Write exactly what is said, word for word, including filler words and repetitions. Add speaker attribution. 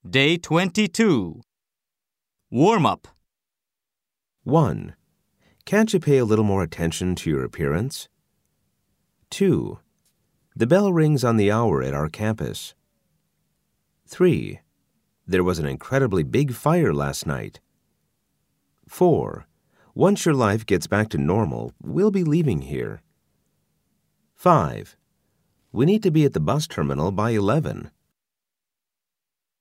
Speaker 1: Day twenty-two. Warm-up.
Speaker 2: one. Can't you pay a little more attention to your appearance? two. The bell rings on the hour at our campus. three. There was an incredibly big fire last night. four. Once your life gets back to normal, we'll be leaving here. five. We need to be at the bus terminal by eleven.